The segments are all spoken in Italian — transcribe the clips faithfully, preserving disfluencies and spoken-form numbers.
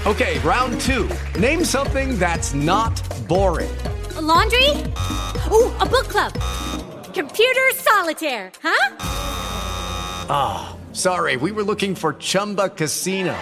Okay, round two. Name something that's not boring. A laundry? Ooh, a book club. Computer solitaire, huh? Ah, oh, sorry, we were looking for Chumba Casino.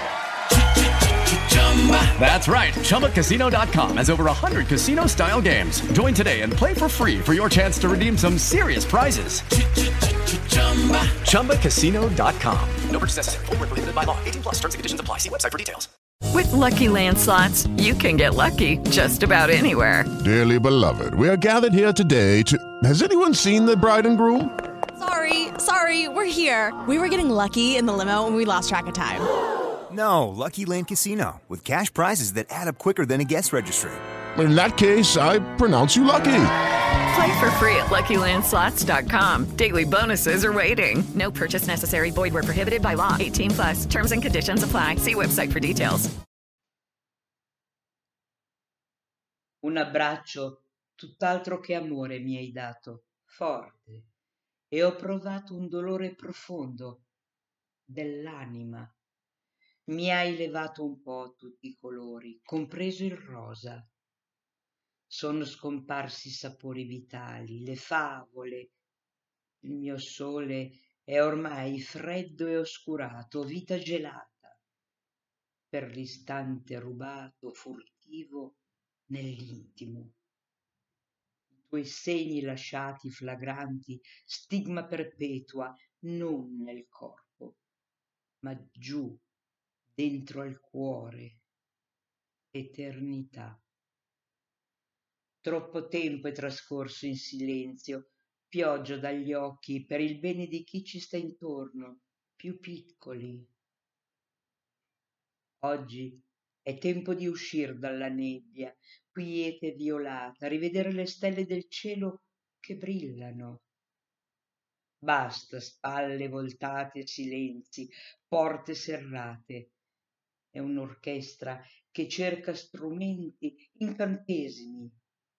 That's right, Chumba Casino dot com has over one hundred casino-style games. Join today and play for free for your chance to redeem some serious prizes. Chumba Casino dot com. No purchase necessary. Void where prohibited by law. eighteen plus terms and conditions apply. See website for details. With Lucky Land Slots, you can get lucky just about anywhere. Dearly beloved, we are gathered here today to... Has anyone seen the bride and groom? Sorry, sorry, we're here. We were getting lucky in the limo and we lost track of time. No, Lucky Land Casino, with cash prizes that add up quicker than a guest registry. In that case, I pronounce you lucky. Play for free at Lucky Land Slots dot com. Daily bonuses are waiting. No purchase necessary. Void where prohibited by law. eighteen plus. Terms and conditions apply. See website for details. Un abbraccio, tutt'altro che amore mi hai dato, forte, e ho provato un dolore profondo dell'anima. Mi hai levato un po' tutti i colori, compreso il rosa. Sono scomparsi i sapori vitali, le favole. Il mio sole è ormai freddo e oscurato, vita gelata, per l'istante rubato, furtivo nell'intimo. I tuoi segni lasciati flagranti, stigma perpetua, non nel corpo, ma giù, dentro al cuore, eternità. Troppo tempo è trascorso in silenzio, pioggia dagli occhi per il bene di chi ci sta intorno, più piccoli. Oggi è tempo di uscir dalla nebbia, quiete violata, rivedere le stelle del cielo che brillano. Basta spalle voltate, silenzi, porte serrate. È un'orchestra che cerca strumenti incantesimi.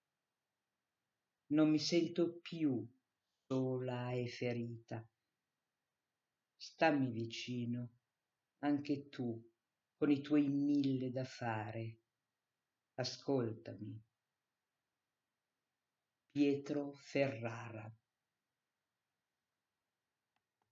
Non mi sento più sola e ferita. Stammi vicino, anche tu, con i tuoi mille da fare. Ascoltami. Pietro Ferrara.